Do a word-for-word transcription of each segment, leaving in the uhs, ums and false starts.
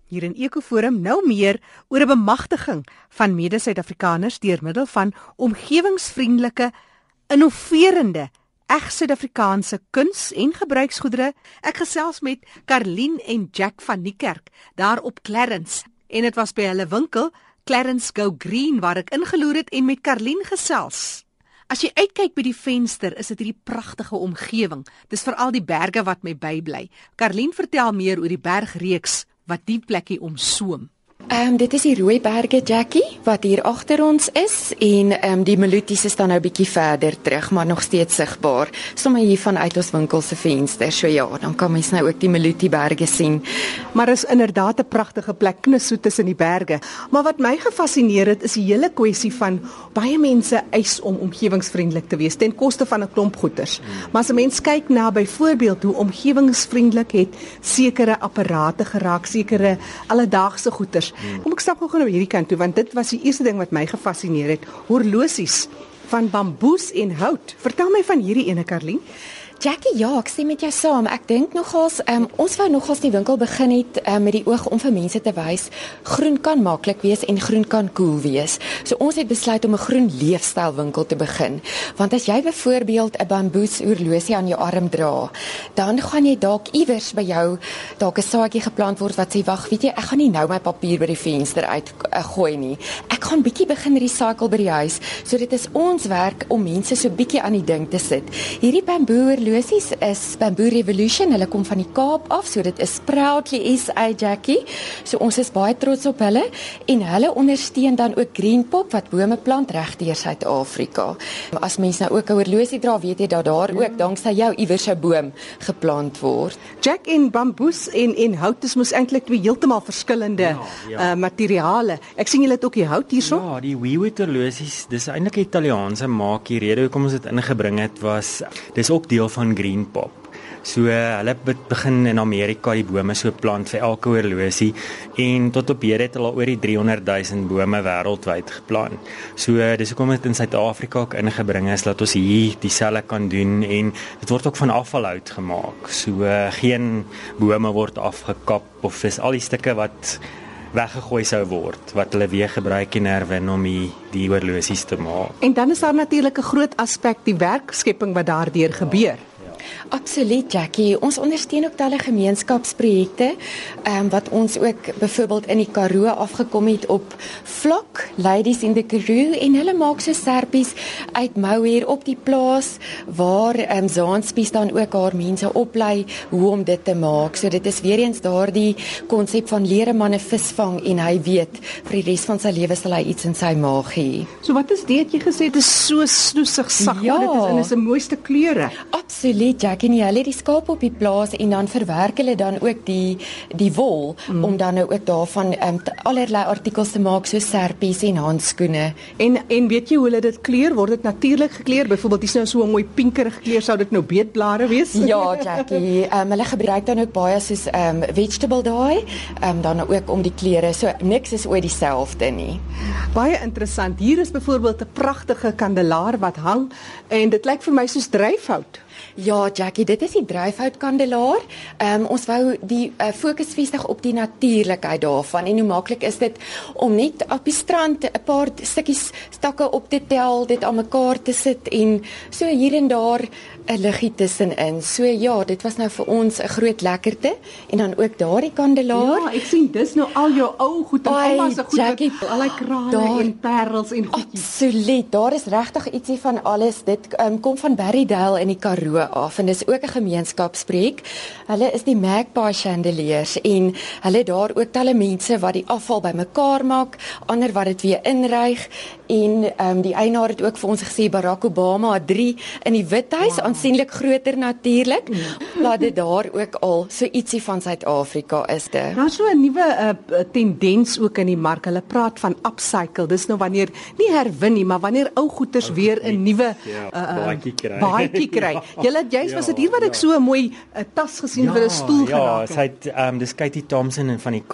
Hier in Ekoforum nou meer oor 'n bemagtiging van mede-Suid-Afrikaners deur middel van omgewingsvriendelike, innoverende, eg Suid-Afrikaanse kuns en gebruiksgoedere. Ek gesels met Karlien en Jack van Niekerk daar op Clarence. En dit was by hulle winkel Clarence Go Green waar ek ingeloer het en met Karlien gesels. As jy uitkyk by die venster, is dit hierdie pragtige omgewing. Dis veral die berge wat my bybly. Karlien vertel meer oor die bergreeks wat die plekkie omsoom. Um, dit is die Rooiberge, Jackie, wat hier agter ons is, en um, die Maluties is dan nou bietjie verder terug, maar nog steeds sigbaar, sommer hier vanuit ons winkel se venster. So ja, dan kan mens nou ook die Malutieberge sien. Maar is inderdaad 'n pragtige plek, knussoet tussen die berge. Maar wat my gefascineer het, is die hele kwessie van baie mense eis om omgewingsvriendelik te wees ten koste van 'n klomp goeders. Maar as 'n mens kyk na byvoorbeeld hoe omgewingsvriendelik het sekere apparate geraak, sekere alledaagse goeders. Hmm. Kom ek stap gou-gou na hierdie kant toe, want dit was die eerste ding wat my gefascineer het. Horlosies van bamboes en hout. Vertel my van hierdie ene, Karlien. Jackie, ja, ek stem met jou saam. Ek dink nogals, um, ons wou nogals die winkel begin het um, met die oog om vir mense te wys, groen kan maklik wees en groen kan cool wees. So ons het besluit om 'n groen leefstyl winkel te begin. Want as jy byvoorbeeld 'n bamboes horlosie aan jou arm dra, dan gaan jy dalk iewers by jou dalk 'n saadjie geplant word wat sê, wag, weet jy, ek gaan nie nou my papier by die venster uit uh, gooi nie. Ek gaan bietjie begin recycle by die huis. So dit is ons werk om mense so bietjie aan die ding te sit. Hierdie bamboe horlosies is Bamboo Revolution, hulle kom van die Kaap af, so dit is proudly S A, Jackie, so ons is baie trots op hulle, en hulle ondersteun dan ook Greenpop, wat bome plant reg deur Suid-Afrika. As mens nou ook 'n horlosie dra, weet jy dat daar ja. ook danksy jou iewers 'n boom geplant word. Jack, en bamboes en, en hout is mos eintlik twee heeltemal verskillende ja, ja. Uh, materiale. Ek sien julle het ook die hout hierso. Ja, die Weewood horlosies, dis eintlik 'n Italiaanse maak. Die rede hoekom ons dit ingebring het was, dis ook deel van Greenpop. So uh, hulle begin in Amerika die bome so plant vir elke horlosie, en tot op hede het hulle al oor die driehonderdduisend bome wêreldwyd geplant. So uh, dis hoekom dit in Suid-Afrika ook ingebring is, dat ons hier dieselfde kan doen, en dit word ook van afvalhout gemaak. So uh, geen bome word afgekap, of is al die stukke wat weggegooi sou word, wat hulle weer gebruik en herwin om die, die horlosies te maak. En dan is daar natuurlik 'n groot aspek, die werkskepping wat daardeur gebeur. Absoluut, Jackie. Ons ondersteun ook talle gemeenskapsprojekte, um, wat ons ook byvoorbeeld in die Karoo afgekom het op Vlak, Ladies in the Karoo, en hulle maak so serpies uit mou hier op die plaas, waar um, Zaanspies dan ook haar mense oplei hoe om dit te maak. So dit is weer eens daardie konsep van leer 'n man 'n vis vang, en hy weet, vir die res van sy lewe sal hy iets in sy maag hê. So wat is dit jy gesê, dit is so snoesig sag, ja. Dit is in is 'n mooiste kleure. Absoluut, Jackie, en hulle het die skaap op die plaas, en dan verwerk hulle dan ook die, die wol, mm. om dan nou ook daarvan um, allerlei artikels te maak, so serpies en handskoene. En, en weet jy hoe hulle dit kleur? Word dit natuurlik gekleur? Byvoorbeeld, dis nou so 'n mooi pinkerig kleur, sou dit nou beetblare wees? Ja, Jackie, um, hulle gebruik dan ook baie soos um, vegetable dye, um, dan ook om die kleure, so niks is ooit dieselfde nie. Baie interessant. Hier is byvoorbeeld 'n pragtige kandelaar wat hang, en dit lyk vir my soos dryfhout. Ja, Jackie, dit is die dryfhoutkandelaar. Um, ons wou die uh, fokus vestig op die natuurlikheid daarvan, en hoe maklik is dit om net op die strand 'n paar stukkies stakke op te tel, dit aan mekaar te sit, en so hier en daar 'n liggie tussenin. So ja, dit was nou vir ons 'n groot lekkerte, en dan ook daardie kandelaar. Ja, ek sien dis nou al jou ou goed, en almal se goed, Jackie, al die krale daar, en parels en goedjies. Absoluut, daar is regtig ietsie van alles. Dit um, kom van Berrydale in die Karoo af, en dis ook 'n gemeenskapsprojek. Hulle is die Magpie Chandeliers, en hulle daar ook talle mense wat die afval bymekaar maak, ander wat dit weer inryg, en um, die eienaar het ook vir ons gesê Barack Obama het drie in die Withuis, wow. Aansienlik groter natuurlik, laat dit daar ook al so ietsie van Suid-Afrika is dit. Daar is so 'n nuwe uh, tendens ook in die mark. Hulle praat van upcycle. Dis nou wanneer nie herwin nie, maar wanneer ou goeders weer 'n nuwe baadjie kry. Baadjie kry. Julle juist was dit hier wat ek so 'n mooi uh, tas gesien ja, vir 'n stoel ja, geraak het. Ja, sy het um, dis Katie Thompson van die Kaap.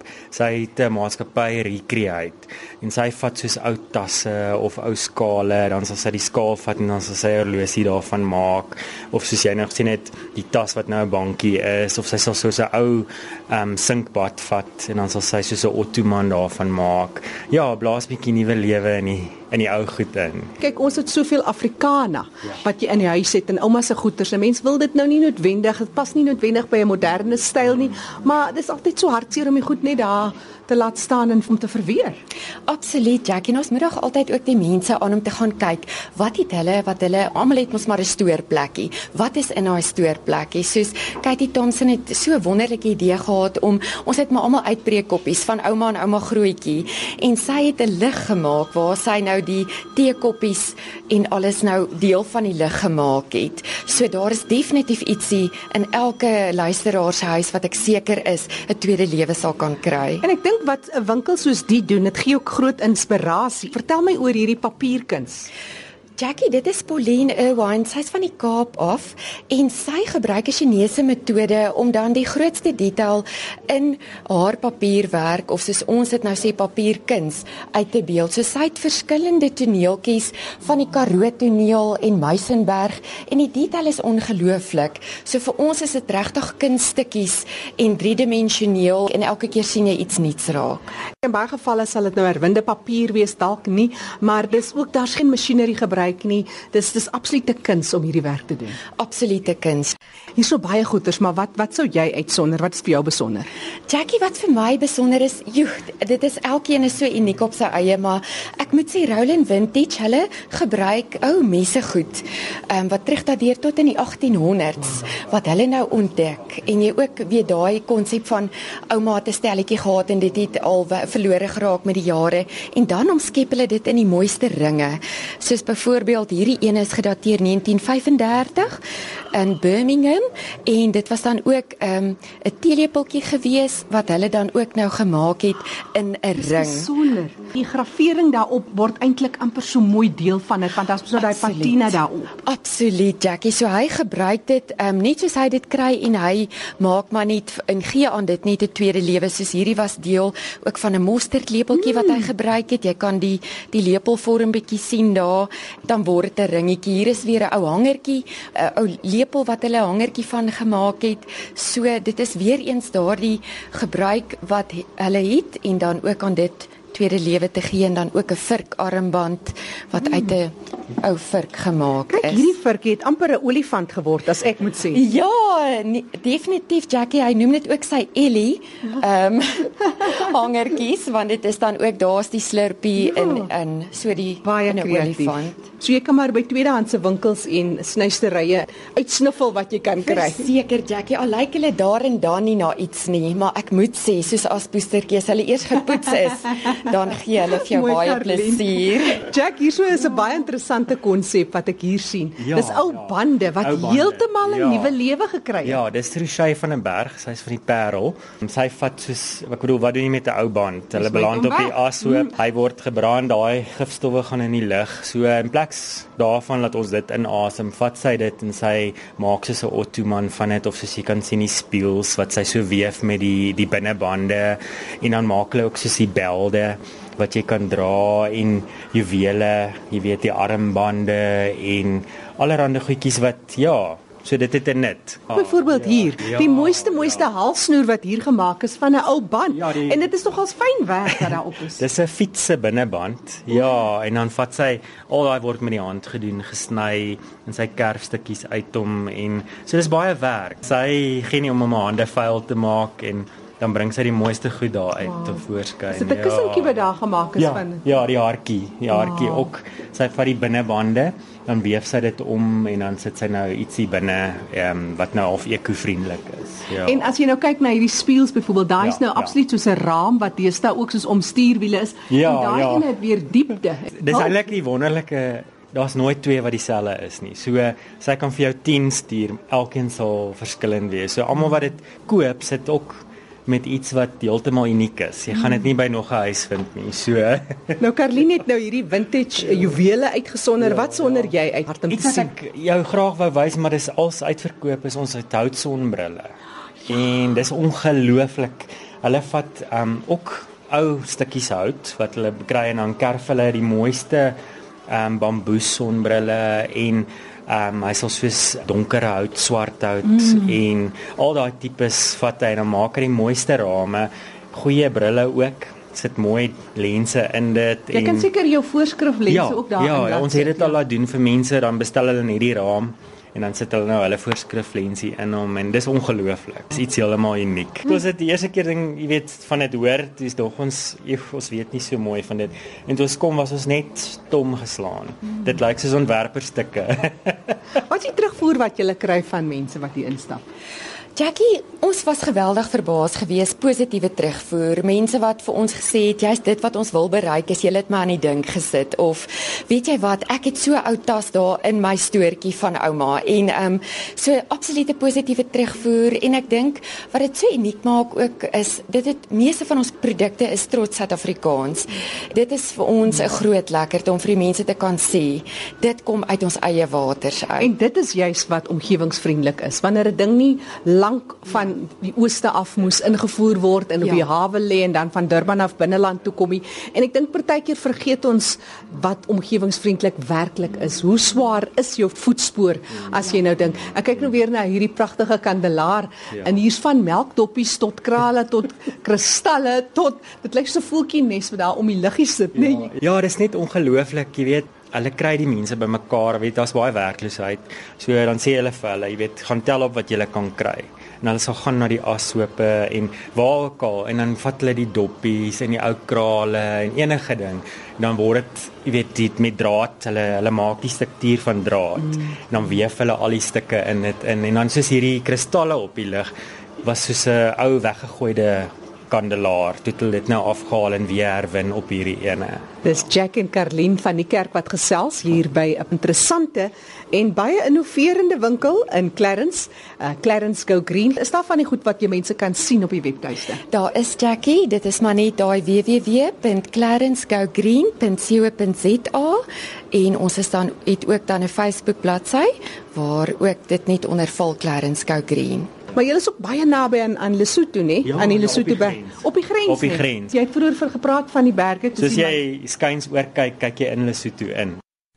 Sy het 'n maatskappy Recreate en sy vat soos ou tasse of ou skale, dan sal sy die skaal vat en dan sal sy 'n horlosie daarvan maak, of soos jy nou gesien het, die tas wat nou 'n bankie is, of sy sal soos 'n ou um, sinkbad vat en dan sal sy soos 'n ottoman daarvan maak. Ja, blaas bietjie nuwe lewe in die in die ou goed in. Kyk, ons het soveel Afrikana ja. wat jy in die huis het en ouma se goeders. En mens wil dit nou nie noodwendig, dit pas nie noodwendig by 'n moderne styl nie, maar dit is altyd so hartseer om die goed net daar te laat staan en om te verweer. Absoluut, Jackie. En ons moet nog altyd ook die mense aan om te gaan kyk, wat het hulle, wat hulle, almal het mos maar 'n stoorplekkie. Wat is in daai stoorplekkie? Soos Katie Thompson het so 'n wonderlike idee gehad om, ons het maar almal uitbreekkoppies van ouma en ouma grootjie, en sy het 'n lig gemaak waar sy nou die teekoppies en alles nou deel van die lig gemaak het. So daar is definitief ietsie in elke luisteraar se huis wat ek seker is 'n tweede lewe sal kan kry. En ek dink wat 'n winkel soos die doen, dit gee ook groot inspirasie. Vertel my oor hierdie papierkuns. Jackie, dit is Pauline Irwine, sy is van die Kaap af en sy gebruik 'n Chinese metode om dan die grootste detail in haar papierwerk, of soos ons dit nou sê papierkuns, uit te beeld. So sy het verskillende toneeltjies van die Karoo toneel en Muizenberg en die detail is ongelooflik. So vir ons is dit regtig kunststukkies en driedimensioneel en elke keer sien jy iets nuuts raak. In baie gevalle sal dit nou herwinde papier wees, dalk nie, maar dis ook, daar's geen masjinerie gebruik nie. Dis dis absolute kuns om hierdie werk te doen. Absolute kuns. Hier's so baie goeders, maar wat wat sou jy uitsonder? Wat is vir jou besonder? Jackie, wat vir my besonder is, joh, dit is elkeen is so uniek op sy eie, maar ek moet sê Rowland Vintage, hulle gebruik ou messegoed, um, wat terugdateer tot in die agtien honderd's, wat hulle nou ontdek. En jy ook weet daai konsep van ouma het 'n stelletjie gehad en dit het al verlore geraak met die jare, en dan omskep hulle dit in die mooiste ringe. Soos byvoorbeeld hierdie een is gedateer negentien vyf en dertig in Birmingham, en dit was dan ook 'n um, 'n teelepeltjie gewees wat hulle dan ook nou gemaak het in 'n ring. Besonder. Die gravering daarop word eintlik amper so mooi deel van dit, want daar's so daai patina daarop. Absoluut, Jackie. So hy gebruik dit um, net soos hy dit kry en hy maak maar net en gee aan dit net 'n tweede lewe. Soos hierdie was deel ook van 'n mosterdlepeltjie mm. wat hy gebruik het. Jy kan die die lepelvorm bietjie sien daar. Dan word dit 'n ringetjie. Hier is weer 'n ou hangertjie, 'n ou lepel wat hulle 'n hangertjie van gemaak het. So dit is weer eens daardie gebruik wat hulle het en dan ook aan dit tweede lewe te gee, en dan ook 'n virkarmband wat hmm. uit 'n ou virk gemaak Kijk, is. Hierdie virk het amper 'n olifant geword, as ek moet sê. Ja, nie, definitief, Jackie. Hy noem dit ook sy Ellie um, hangertjies, want dit is dan ook, daar's die slurpie ja. in in so die baie in 'n olifant. So jy kan maar by tweedehandse winkels en snuisterye uitsniffel wat jy kan kry. Seker, Jackie, al lyk hulle daar en dan nie na iets nie, maar ek moet sê, soos as poestertjies hulle eers gepoets is, dan gee hulle vir jou Mooi baie Karlien. plesier. Jack, hierso is 'n baie interessante konsep wat ek hier sien. Ja, dis ou ja. bande wat Ou bande, heeltemal 'n ja. nuwe lewe gekry het. Ja, dis Trushay van den Berg, sy's van die Parel. Sy vat soos, ek bedoel, wat doen jy met 'n ou band? Hulle beland op die ashoop, mm. hy word gebrand, daai gifstowwe gaan in die lug. So in plaas daarvan laat ons dit inasem, vat sy dit en sy maak soos 'n ottoman van dit, of soos jy kan sien die spieels wat sy so weef met die die binnebande, en dan maak hulle ook soos die belde wat jy kan dra en juwele, jy weet die armbande en allerlei goedjies wat ja, so dit het 'n nut. Byvoorbeeld ja, hier, ja, die mooiste mooiste ja. halssnoer wat hier gemaak is van 'n ou band. Ja, die, en dit is nogals fyn werk wat daarop is. Dis 'n fiets se binneband. Ja, en dan vat sy al daai word met die hand gedoen, gesny en sy kerfstukkies uit hom, en so dis baie werk. Sy gee nie om om haar hande vuil te maak, en dan bring sy die mooiste goed daar uit wow. te voorskyn. Is dit 'n kussentjie wat daar gemaak is ja, van? Ja, die hartjie, die hartjie wow. ook. Sy vat die binnebande, dan weef sy dit om en dan sit sy nou ietsie binne um, wat nou half ekovriendelik is. Ja. En as jy nou kyk na hierdie spieels byvoorbeeld, daai ja, is nou ja. absoluut soos 'n raam wat deesdae ook soos om stuurwiele is. Ja, en daai ja. een het weer diepte. Dis oh. eintlik die wonderlike, daar's nooit twee wat dieselfde is nie. So sy kan vir jou tien stuur, elkeen sal verskillend wees. So almal wat dit koop, sit ook met iets wat heeltemal uniek is. Jy gaan dit nie by nog 'n huis vind nie. So nou Karlien het nou hierdie vintage juwele uitgesonder. Ja, wat sonder ja. jy uit hart om iets te sien? Iets wat ek jou graag wou wys, maar dis als uitverkoop is ons hout sonbrille. En dis ongelooflik. Hulle vat um ook ou stukkies hout wat hulle kry en dan kerf hulle die mooiste um bamboes sonbrille en um hy sal soos donker hout, swart hout mm. en al daai tipes vat hy en dan maak hy die mooiste rame, goeie brille ook. Sit mooi lense in dit. Jy kan seker jou voorskrif lense ja, ook daarin. Ja, ja, ons het dit al laat doen vir mense, dan bestel hulle net die raam en dan sit hulle nou hulle voorskrif lensie in hom en dis ongelooflik. Dis iets heeltemal uniek. Dit was dit die eerste keer ding, jy weet, van dit hoor, dis dog ons, eef, ons weet nie so mooi van dit. En toe ons kom was ons net stom geslaan. Hmm. Dit lyk soos ontwerperstukke. Wat is die terugvoer wat jy kry van mense wat hier instap? Jackie, ons was geweldig verbaas gewees, positiewe terugvoer. Mense wat vir ons gesê het, jy's dit wat ons wil bereik, is jy het my aan die dink gesit of weet jy wat, ek het so ou tas daar in my stoortjie van ouma en ehm um, so absolute positiewe terugvoer en ek dink wat dit so uniek maak ook is dit het meeste van ons produkte is trots Suid-Afrikaans. Dit is vir ons 'n groot lekkerte om vir die mense te kan sê, dit kom uit ons eie waters uit. En dit is juist wat omgewingsvriendelik is. Wanneer 'n ding nie lank van die ooste af moes ingevoer word en op ja. die hawe lê en dan van Durban af binneland toe kom. En ek dink partykeer vergeet ons wat omgewingsvriendelik werklik is. Hoe swaar is jou voetspoor as jy nou dink. Ek kyk nou weer na hierdie pragtige kandelaar ja. en hier's van melkdoppies tot krale tot kristalle tot dit lyk so 'n voeltjie nes wat daar om die liggie sit, ja. nee. Ja, dis net ongelooflik, jy weet. Hulle kry die mense bymekaar, weet daar's baie werkloosheid. So dan sê hulle vir hulle, jy weet, gaan tel op wat jy kan kry. En hulle sal gaan na die ashope en waar ook al en dan vat hulle die doppies en die ou krale en enige ding. En dan word dit, jy weet, dit met draad, hulle hulle maak die struktuur van draad. Mm. En dan weef hulle al die stukke in dit in en dan soos hierdie kristalle op die lig was soos 'n ou weggegooide kandelaar, toe het hulle dit nou afgehaal en weer herwin op hierdie ene. Dis Jack en Karlien van die kerk wat gesels hier by 'n interessante en baie innoverende winkel in Clarence, uh, Clarence Go Green. Is daar van die goed wat jy mense kan sien op die webtuiste? Daar is Jackie, dit is maar net daai w w w punt clarence go green punt co punt z a en ons is dan het ook dan 'n Facebook bladsy waar ook dit net onder val Clarence Go Green. Maar jy is ook baie naby aan aan Lesotho, né? Ja, aan die ja, Lesotho op die berg. grens. Op die grens. Op die nie? grens. Jy het vroeër vir gepraat van die berge. Soos jy skuins oor kyk, kyk jy in Lesotho in.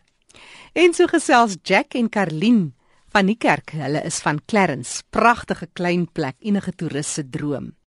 En so gesels Jack en Karlien van die kerk. Hulle is van Clarence. Pragtige klein plek, enige toerist se droom.